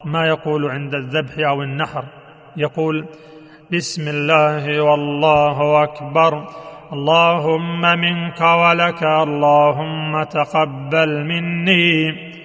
ما يقول عند الذبح أو النحر، يقول: بسم الله والله أكبر، اللهم منك ولك، اللهم تقبل مني.